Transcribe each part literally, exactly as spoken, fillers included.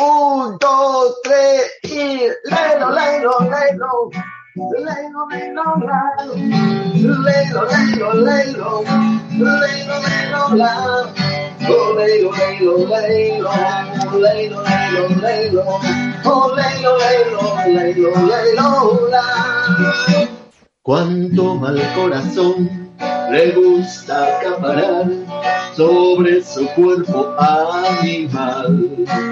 Un, dos, tres y lelo, lelo, lelo. Lelo, lelo, lelo. Lelo, lelo, lelo. Lelo, lelo, la. Oh, lelo, lelo, lelo. Lelo, lelo, lelo. Oh, lelo, lelo, lelo, lelo, la. Cuánto mal corazón le gusta acaparar sobre su cuerpo animal.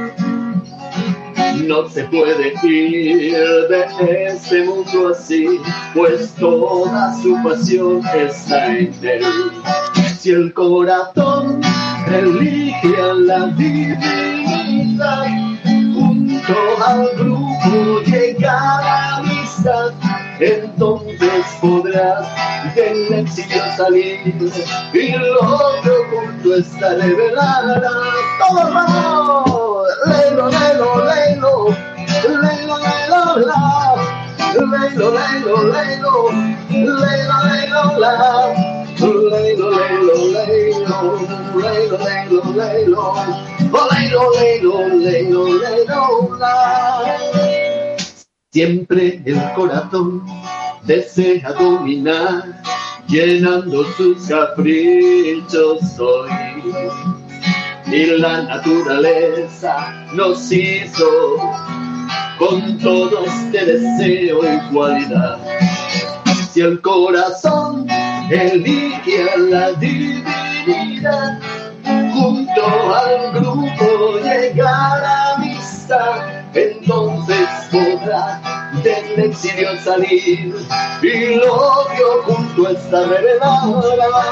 No se puede ir de este mundo así, pues toda su pasión está en él. Si el corazón elige a la divinidad, junto al grupo llega la amistad, entonces podrás del exilio salir y lo que oculto está revelará. ¡Todos vamos! Lelo, lelo, lelo, lelo, lelo, la. Lelo, lelo, lelo, lelo, lelo, la. Lelo, lelo, lelo, lelo, lelo, lelo. Oh, lelo, lelo, lelo, lelo, la. Siempre el corazón desea dominar, llenando sus caprichos hoy. Y la naturaleza nos hizo con todo este deseo y cualidad. Si el corazón elige a la divinidad, junto al grupo llega la amistad, entonces podrá del exilio salir y lo que oculto está revelado.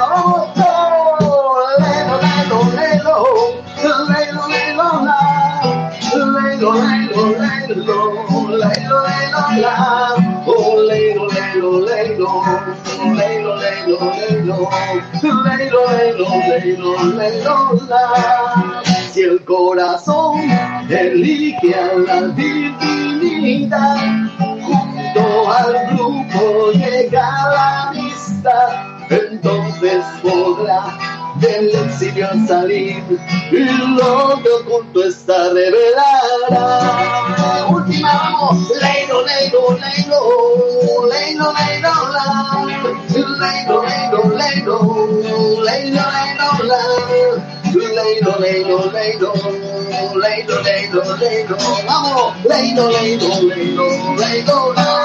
Lelo, lelo, lelo, lelo, lelo, la. Lelo, lelo, lelo, lelo, lelo, la. Oh, lelo, lelo, lelo, lelo, lelo, lelo, lelo, lelo, lelo, lelo, la. Si el corazón elige a la divinidad, junto al grupo llega la amistad, entonces podrá del exilio salir y lo que oculto está revelará. Última, vamos. Lelo, lelo, lelo, lelo, lelo, la. Lelo, lelo, lelo, lelo, lelo, la. Lelo, lelo, lelo, lelo, lelo, lelo, vamos. Lelo, lelo, lelo, lelo, la.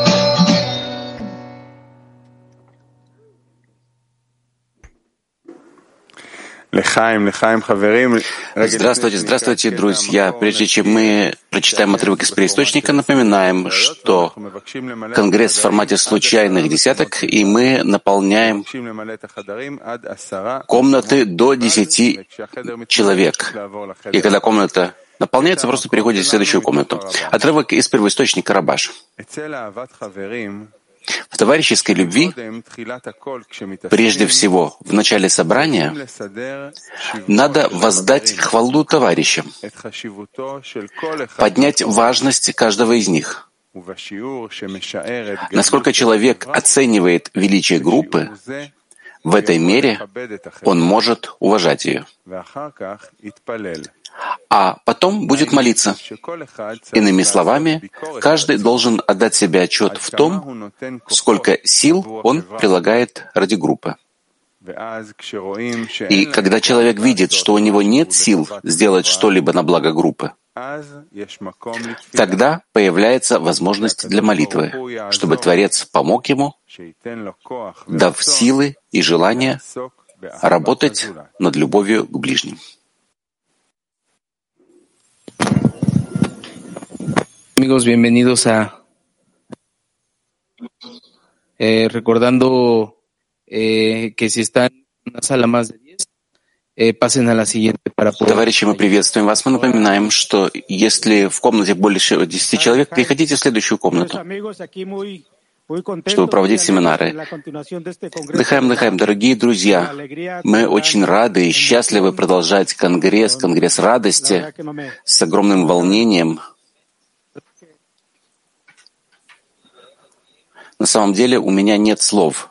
Здравствуйте, здравствуйте, друзья. Прежде чем мы прочитаем отрывок из первоисточника, напоминаем, что Конгресс в формате случайных десяток, и мы наполняем комнаты до десяти человек. И когда комната наполняется, просто переходите в следующую комнату. Отрывок из первоисточника Рабаш. В товарищеской любви, прежде всего, в начале собрания, надо воздать хвалу товарищам, поднять важность каждого из них. Насколько человек оценивает величие группы, в этой мере он может уважать ее. А потом будет молиться. Иными словами, каждый должен отдать себе отчет в том, сколько сил он прилагает ради группы. И когда человек видит, что у него нет сил сделать что-либо на благо группы, тогда появляется возможность для молитвы, чтобы Творец помог ему, дав силы и желание работать над любовью к ближним. Amigos, bienvenidos a eh, recordando eh, que si están en una sala más de diez, eh, pasen a la siguiente para poder. Товарищи, мы приветствуем вас. Мы напоминаем, что если в комнате больше десяти человек, переходите в следующую комнату, чтобы проводить семинары. Дыхаем, дыхаем, дорогие друзья. Мы очень рады и счастливы продолжать конгресс, конгресс радости с огромным волнением. На самом деле у меня нет слов.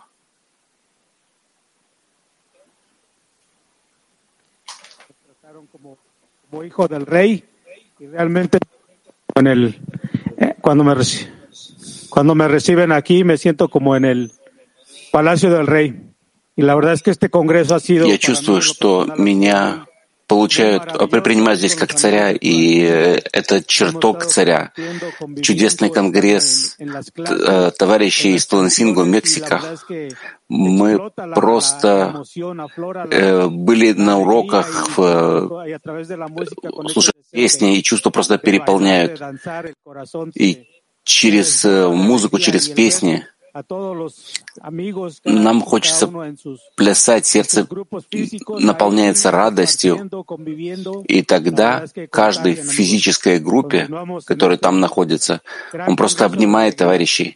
Cuando me reciben aquí, me siento como en el Palacio del Rey. Y la verdad es que este congreso ha sido. Я чувствую, что меня получают, принимают здесь как царя, и это чертог царя. Чудесный конгресс товарищей из Тулансинго, Мексика. Мы просто э, были на уроках, э, слушая песни, и чувства просто переполняют. И через э, музыку, через песни нам хочется плясать, сердце наполняется радостью, и тогда каждый в физической группе, который там находится, он просто обнимает товарищей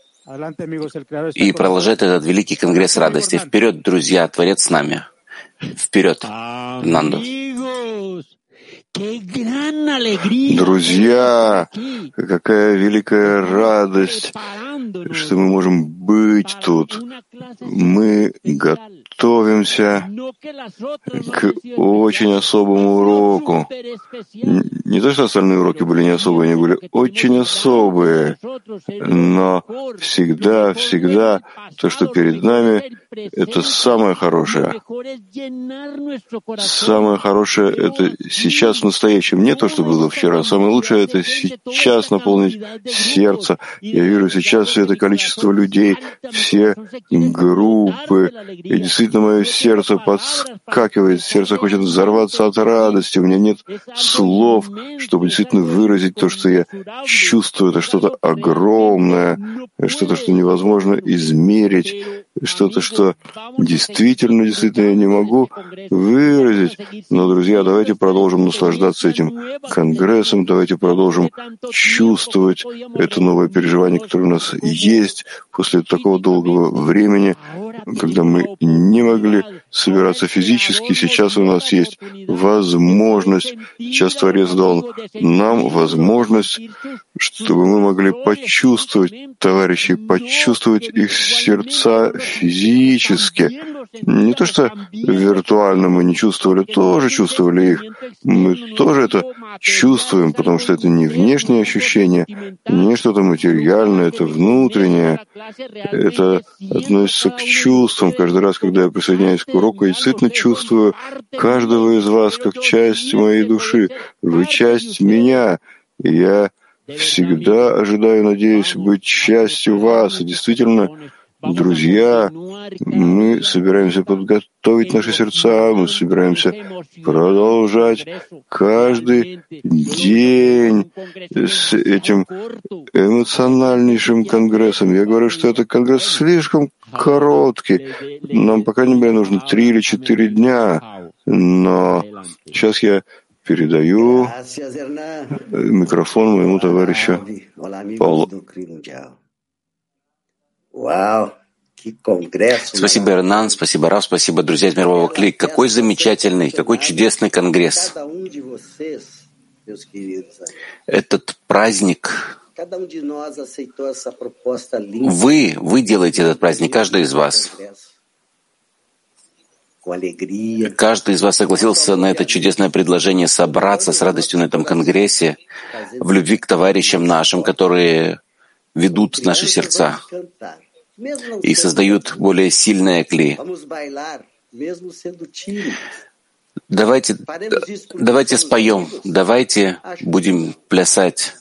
и продолжает этот великий конгресс радости. Вперед, друзья, Творец с нами. Вперед, Нанду. Друзья, какая великая радость, что мы можем быть тут. Мы готовимся к очень особому уроку. Не то, что остальные уроки были не особые, они были очень особые, но всегда, всегда то, что перед нами, это самое хорошее. Самое хорошее — это сейчас в настоящем, не то, что было вчера. Самое лучшее — это сейчас наполнить сердце. Я вижу сейчас все это количество людей, все группы, и действительно мое сердце подскакивает, сердце хочет взорваться от радости. У меня нет слов, чтобы действительно выразить то, что я чувствую. Это что-то огромное, что-то, что невозможно измерить, что-то, что действительно, действительно я не могу выразить. Но, друзья, давайте продолжим наслаждаться этим конгрессом, давайте продолжим чувствовать это новое переживание, которое у нас есть после такого долгого времени, когда мы не могли собираться физически. Сейчас у нас есть возможность, сейчас Творец дал нам возможность, чтобы мы могли почувствовать товарищей, почувствовать их сердца физически. Не то, что виртуально мы не чувствовали, тоже чувствовали их. Мы тоже это чувствуем, потому что это не внешнее ощущение, не что-то материальное, это внутреннее. Это относится к чувствам. Каждый раз, когда я присоединяюсь к уроку, я действительно чувствую каждого из вас как часть моей души. Вы часть меня. И я всегда ожидаю, надеюсь, быть частью вас. И действительно, друзья, мы собираемся подготовить наши сердца, мы собираемся продолжать каждый день с этим эмоциональнейшим конгрессом. Я говорю, что этот конгресс слишком короткий. Нам, по крайней мере, нужно три или четыре дня. Но сейчас я передаю микрофон моему товарищу Паулу. Спасибо, Эрнан, спасибо, Рав, спасибо, друзья из Мирового Кли. Какой замечательный, какой чудесный конгресс. Этот праздник, вы, вы делаете этот праздник, каждый из вас. Каждый из вас согласился на это чудесное предложение собраться с радостью на этом конгрессе, в любви к товарищам нашим, которые ведут наши сердца и создают более сильное кли. Давайте, давайте споем, давайте будем плясать.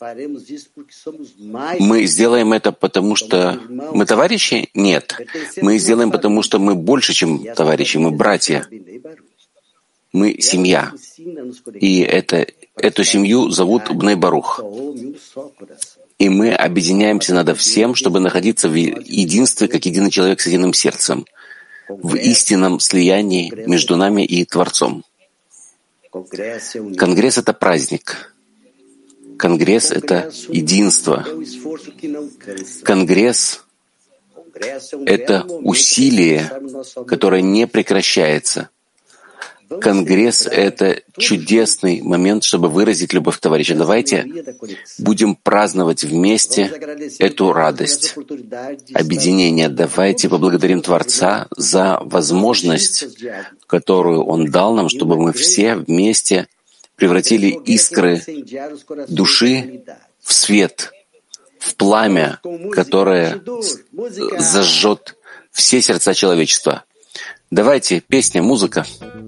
Мы сделаем это, потому что мы товарищи? Нет. Мы сделаем, потому что мы больше, чем товарищи, мы братья. Мы семья. И это, эту семью зовут Бней Барух. И мы объединяемся над всем, чтобы находиться в единстве, как единый человек с единым сердцем, в истинном слиянии между нами и Творцом. Конгресс — это праздник. Конгресс — это единство. Конгресс — это усилие, которое не прекращается. Конгресс — это чудесный момент, чтобы выразить любовь к товарищам. Давайте будем праздновать вместе эту радость, объединение. Давайте поблагодарим Творца за возможность, которую Он дал нам, чтобы мы все вместе превратили искры души в свет, в пламя, которое зажжет все сердца человечества. Давайте, песня, музыка.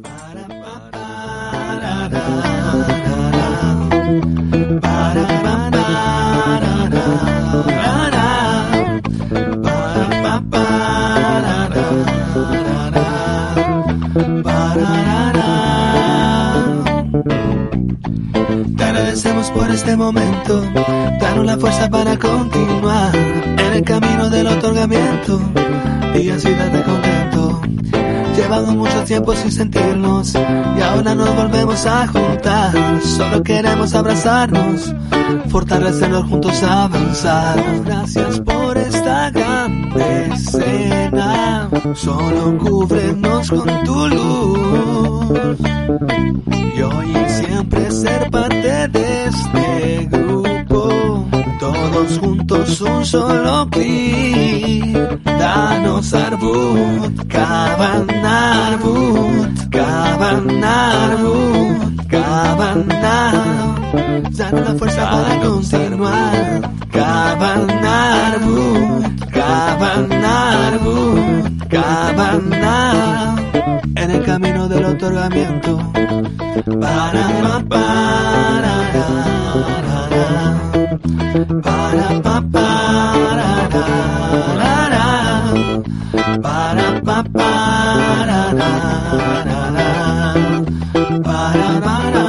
Te agradecemos por este momento, danos la fuerza para continuar en el camino del otorgamiento y así darte contento. Llevamos mucho tiempo sin sentirnos y ahora nos volvemos a juntar. Solo queremos abrazarnos, fortalecernos juntos, avanzar. Gracias por esta grande escena, solo cúbrenos con tu luz. Y hoy y siempre ser parte de este grupo, todos juntos un solo clic. Danos Arbut, Kavan Arbut, Kavan Arbut, Kavan Arbut. Danos la fuerza para continuar. Kavan Arbut, Kavan Arbut, Kavan Arbut. En el camino del otorgamiento. Para pa para para pa para para pa para para.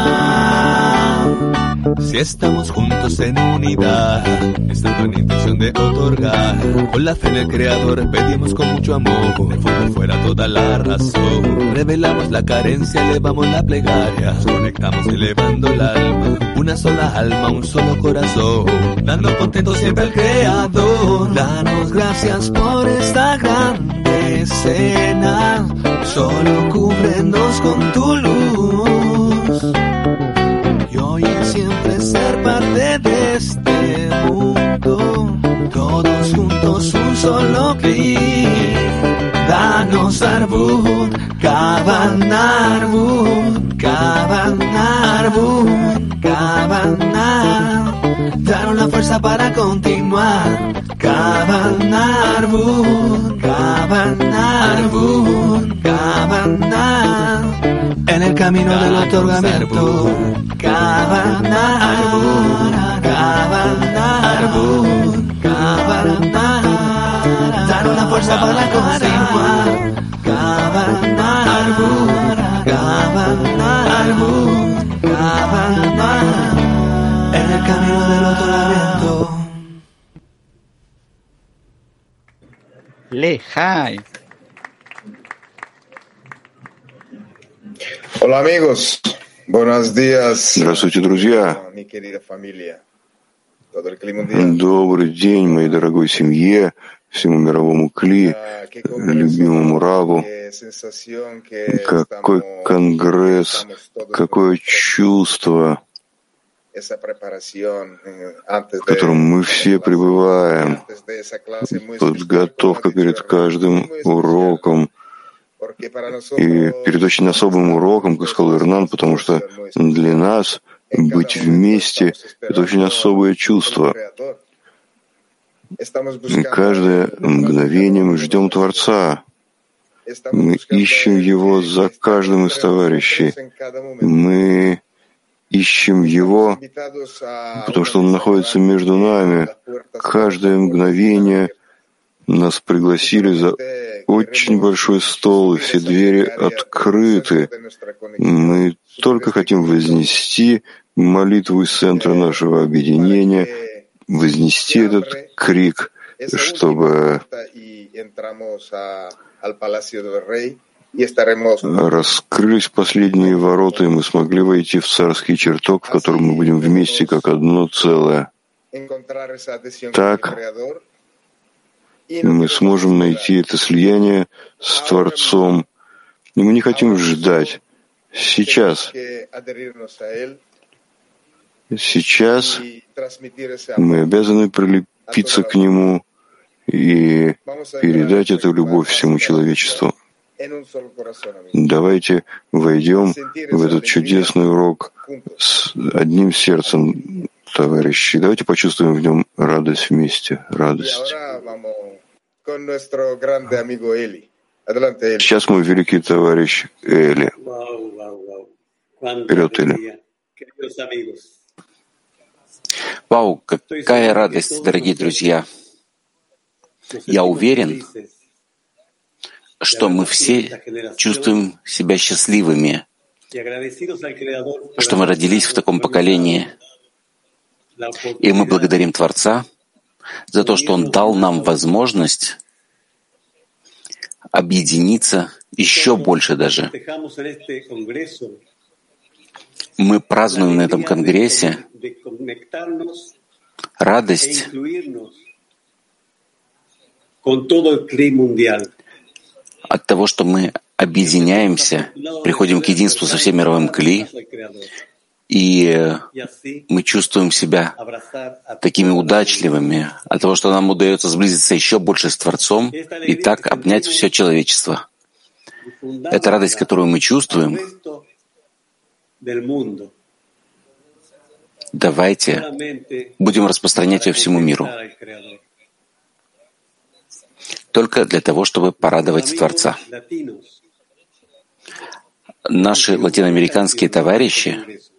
Si estamos juntos en unidad, estando en intención de otorgar, con la fe en el Creador pedimos con mucho amor, de fondo fuera toda la razón. Revelamos la carencia, elevamos la plegaria, nos conectamos elevando el alma, una sola alma, un solo corazón, dando contento siempre al Creador. Danos gracias por esta grande escena, solo cúbrenos con tu luz. Y hoy y siempre ser parte de este mundo, todos juntos un solo clic. Danos Arbut, Kavan Arbut, Kavan Arbut, Kavan Arbut. Danos la fuerza para continuar. Kavan Arbut, Kavan Arbut, Kavan Arbut. En el camino del otorgamiento. Kavan Arbut, Kavan Arbut, Kavan Arbut. Danos la fuerza para continuar. Kavan Arbut, Kavan Arbut, Kavan Arbut. En el camino del otorgamiento. Lejai. Hola amigos, buenos días. Здравствуйте, друзья. Добрый день, моей дорогой семье, всему мировому Кли, любимому Раву. Какой конгресс, какое чувство, в котором мы все пребываем. Подготовка перед каждым уроком. И перед очень особым уроком, как сказал Ирнан, потому что для нас быть вместе — это очень особое чувство. И каждое мгновение мы ждем Творца. Мы ищем Его за каждым из товарищей. Мы ищем Его, потому что Он находится между нами. Каждое мгновение нас пригласили за очень большой стол, и все двери открыты. Мы только хотим вознести молитву из центра нашего объединения, вознести этот крик, чтобы раскрылись последние ворота, и мы смогли войти в царский чертог, в котором мы будем вместе как одно целое. Так мы сможем найти это слияние с Творцом. И мы не хотим ждать. Сейчас. Сейчас мы обязаны прилепиться к Нему и передать эту любовь всему человечеству. Давайте войдем в этот чудесный урок с одним сердцем, товарищи. Давайте почувствуем в нем радость вместе, радость. Сейчас мой великий товарищ Эли. Вперед, Эли. Вау, какая радость, дорогие друзья! Я уверен, что мы все чувствуем себя счастливыми, что мы родились в таком поколении. И мы благодарим Творца за то, что Он дал нам возможность объединиться еще больше даже. Мы празднуем на этом конгрессе радость от того, что мы объединяемся, приходим к единству со всем мировым кли, и мы чувствуем себя такими удачливыми от того, что нам удается сблизиться еще больше с Творцом и так обнять все человечество. Это радость, которую мы чувствуем. Давайте будем распространять ее всему миру. Только для того, чтобы порадовать Творца. Наши латиноамериканские товарищи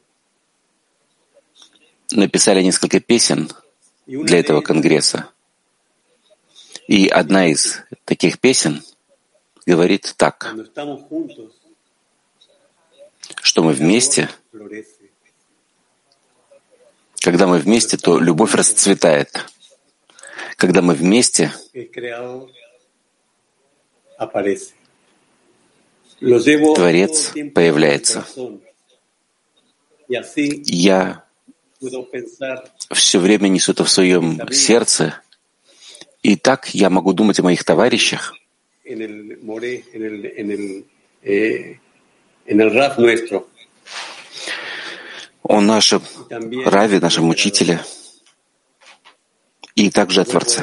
написали несколько песен для этого конгресса. И одна из таких песен говорит так, что мы вместе, когда мы вместе, то любовь расцветает. Когда мы вместе, Творец появляется. Я все время несу это в своем сердце, и так я могу думать о моих товарищах, о нашем Раве, нашем учителе, и также о Творце.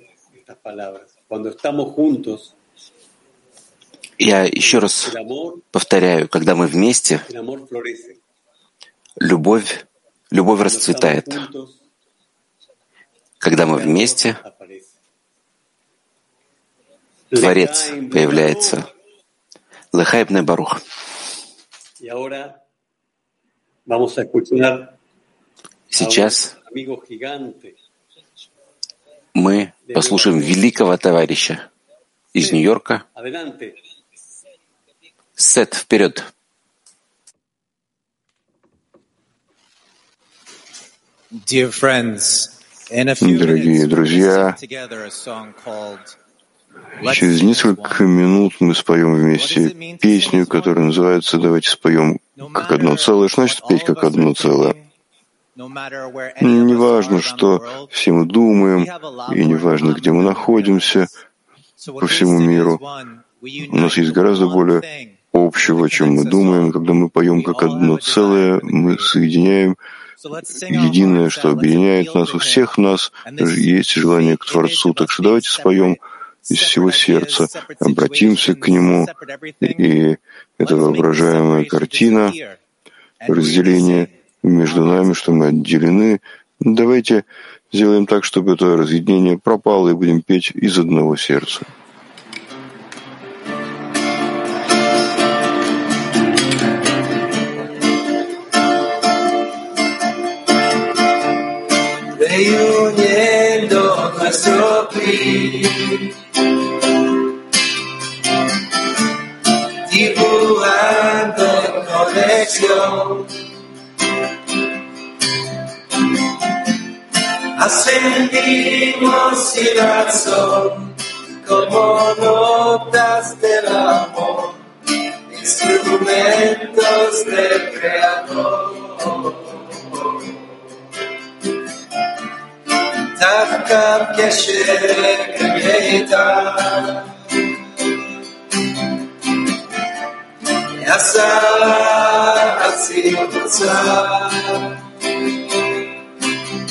Я еще раз повторяю, когда мы вместе, любовь, любовь расцветает. Когда мы вместе, Творец появляется. Лехай бней Барух. Сейчас мы послушаем великого товарища из Нью-Йорка. Сет, вперед! Дорогие друзья, через несколько минут мы споем вместе песню, которая называется «Давайте споем как одно целое». Что значит петь как одно целое? Неважно, что все мы думаем, и неважно, где мы находимся по всему миру, у нас есть гораздо более общего, чем мы думаем. Когда мы поем как одно целое, мы соединяем единое, что объединяет нас. У всех нас есть желание к Творцу. Так что давайте споем из всего сердца, обратимся к Нему, и эта воображаемая картина разделения между нами, что мы отделены. Давайте сделаем так, чтобы это разъединение пропало, и будем петь из одного сердца. Reuniendo nuestro clima, dibujando conexión, ascendimos sin razón, como notas del amor, instrumentos del Creador. דווקא כשם איתן עשה עצים בצד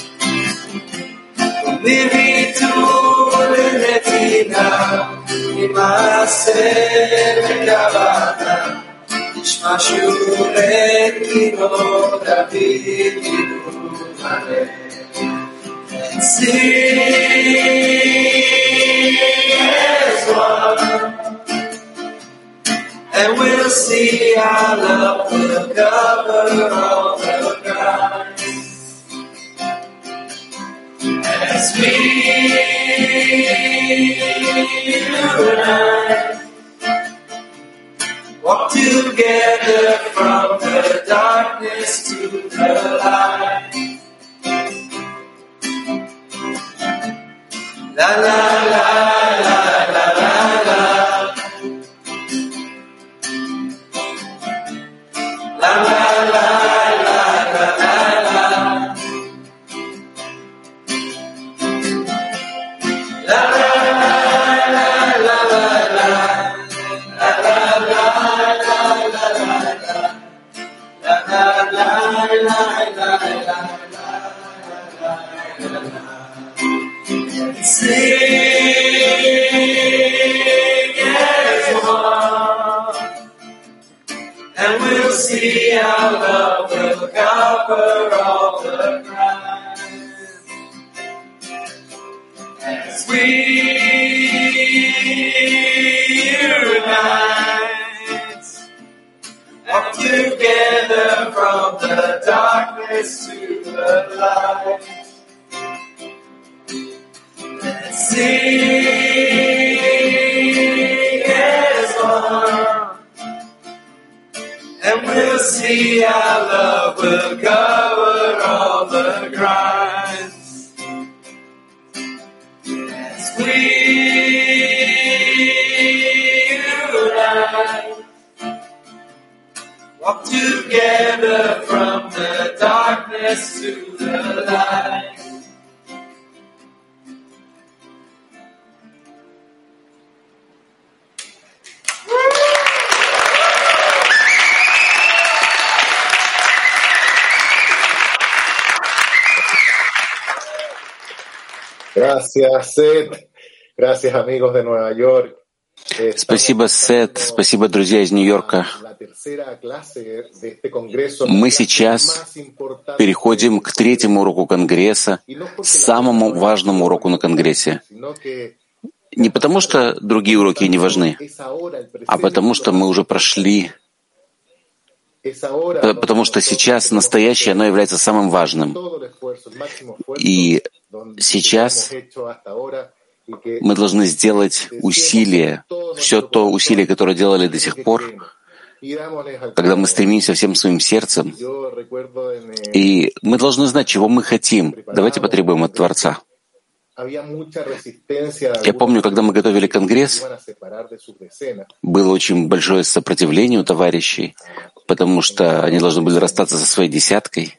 ומביטול לנתינה עם And we'll see our love will cover all the ground. As we unite, walk together from the darkness to the light. La la la la la la la. La la la la la la la. La la la la la la la. La la la la la la la. La la la la la la la. Sing as one, and we'll see our love will cover all the ground. As we unite, walk together from the darkness to the light. Sing as one, and we'll see our love will cover all the crimes. As we unite, walk together from the darkness to the light. Gracias, Seth. Gracias, amigos de Nueva York. Спасибо, Сет. Спасибо, друзья из Нью-Йорка. Мы сейчас переходим к третьему уроку Конгресса, самому важному уроку на Конгрессе. Не потому, что другие уроки не важны, а потому, что мы уже прошли, потому что сейчас настоящее, оно является самым важным. И сейчас мы должны сделать усилия, все то усилие, которое делали до сих пор, когда мы стремимся всем своим сердцем. И мы должны знать, чего мы хотим. Давайте потребуем от Творца. Я помню, когда мы готовили Конгресс, было очень большое сопротивление у товарищей, потому что они должны были расстаться со своей десяткой,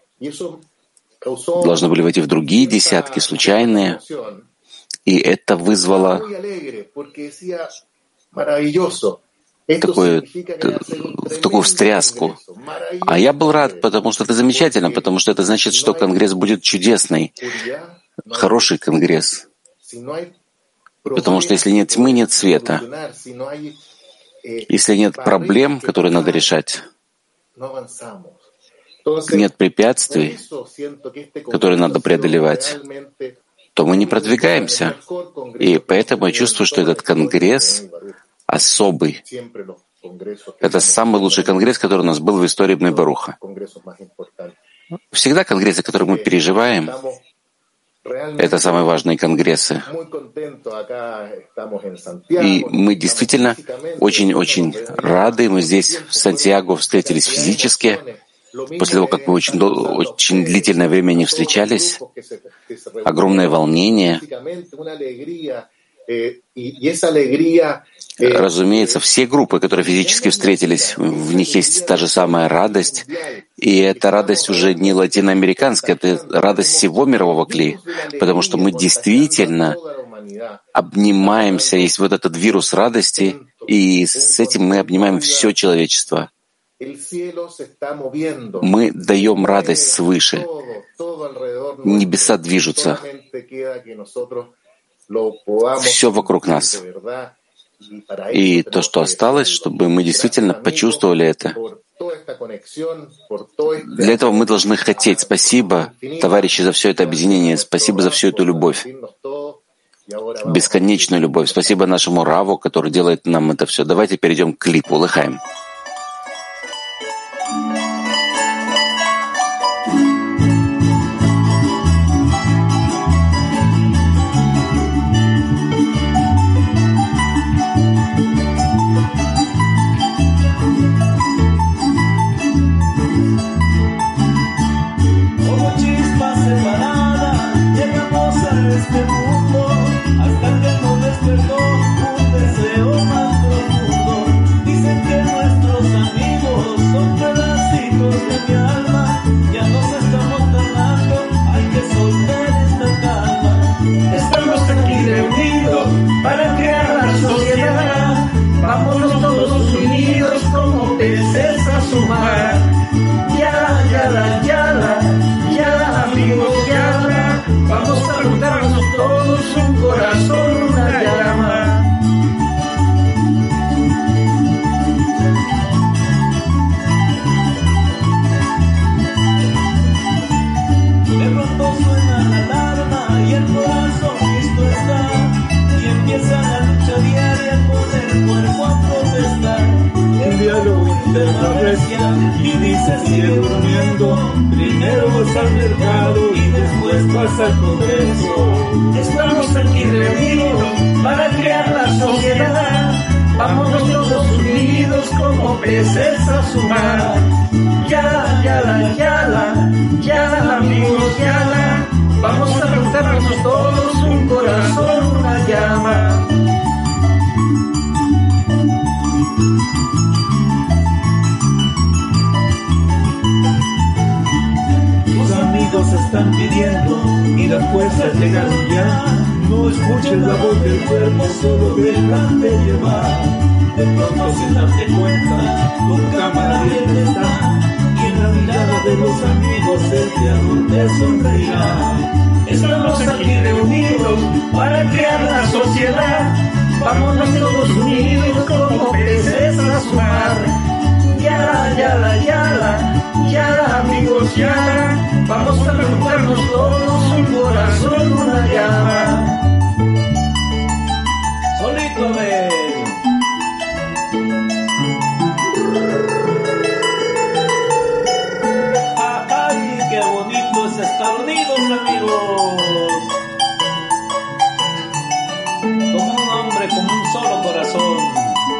должны были войти в другие десятки, случайные. И это вызвало такую, такую встряску. А я был рад, потому что это замечательно, потому что это значит, что Конгресс будет чудесный, хороший Конгресс. Потому что если нет тьмы, нет света. Если нет проблем, которые надо решать, нет препятствий, которые надо преодолевать, то мы не продвигаемся. И поэтому я чувствую, что этот Конгресс особый. Это самый лучший Конгресс, который у нас был в истории Бней Баруха. Всегда конгрессы, которые мы переживаем, это самые важные конгрессы. И мы действительно очень-очень рады. Мы здесь, в Сантьяго, встретились физически. После того, как мы очень, очень длительное время не встречались, огромное волнение. Разумеется, все группы, которые физически встретились, в них есть та же самая радость. И эта радость уже не латиноамериканская, это радость всего мирового клея, потому что мы действительно обнимаемся, есть вот этот вирус радости, и с этим мы обнимаем все человечество. Мы даем радость свыше. Небеса движутся. Все вокруг нас. И то, что осталось, чтобы мы действительно почувствовали это. Для этого мы должны хотеть. Спасибо, товарищи, за все это объединение. Спасибо за всю эту любовь. Бесконечную любовь. Спасибо нашему Раву, который делает нам это все. Давайте перейдем к клипу. Лыхаем. Y dice sigue durmiendo, primero vas al mercado y después vas al Congreso. Estamos aquí reunidos para crear la sociedad. Vámonos todos unidos como peces a su mar. Yala, yala, yala, yala, amigos, yala. Vamos a juntarnos todos, un corazón, una llama. Amigos están pidiendo y las fuerzas llegaron ya. No escuches la voz del cuerpo, solo déjate llevar. De pronto sin darte cuenta, tu cámara bien está. Y en la mirada de los amigos el creador te sonreirá. Estamos aquí reunidos para crear la sociedad. Vámonos todos unidos como peces a su mar. Yala, yala, yala, yala, amigos, yala. Vamos a juntarnos todos, un corazón, una llama. Solito de... ¡Ay, qué bonito es estar unidos, amigos! Como un hombre, como un solo corazón.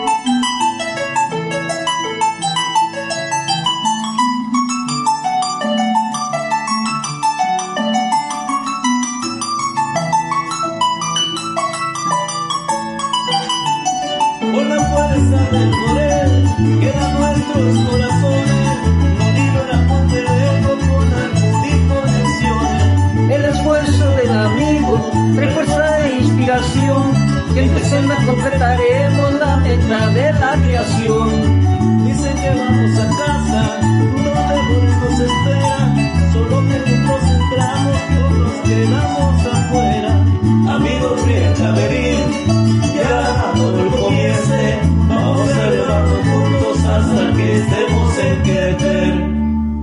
del poder que da nuestros corazones, unido el amor del ego con armonía y conexión. El esfuerzo del amigo, refuerza e inspiración, y en decena completaremos la meta de la creación. Dicen que vamos a casa, donde nos espera, solo que juntos entramos, todos quedamos afuera. Amigos, bien a venir, ya todo el comience, vamos a elevarnos juntos hasta que estemos en Keter.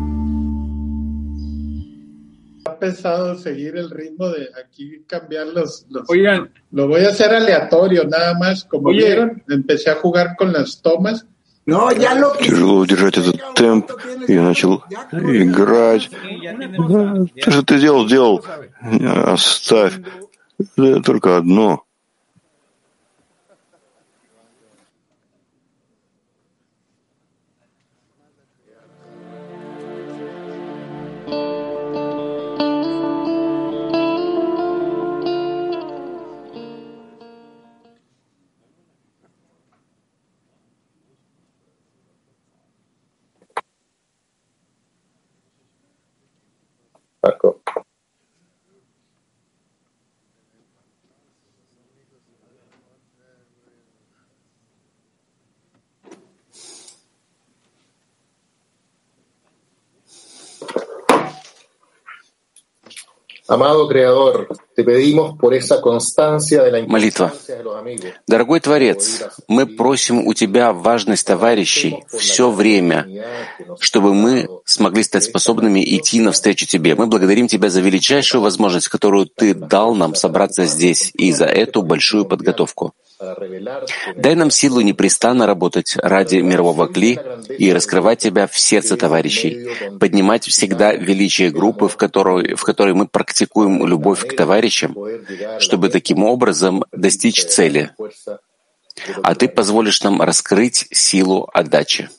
Ha pesado seguir el ritmo de aquí, cambiar los, los... Oigan. Lo voy a hacer aleatorio, nada más. Como Oye. vieron, empecé a jugar con las tomas. No, ya lo que... Тяжело удержать этот темп. Я начал играть. То, что ты сделал, сделал. Оставь. Только одно. Marco. Amado Creador, Молитва. Дорогой Творец, мы просим у Тебя важность товарищей все время, чтобы мы смогли стать способными идти навстречу Тебе. Мы благодарим Тебя за величайшую возможность, которую Ты дал нам собраться здесь, и за эту большую подготовку. Дай нам силу непрестанно работать ради мирового кли и раскрывать Тебя в сердце товарищей, поднимать всегда величие группы, в которой, в которой мы практикуем любовь к товарищам, чтобы таким образом достичь цели. А Ты позволишь нам раскрыть силу отдачи.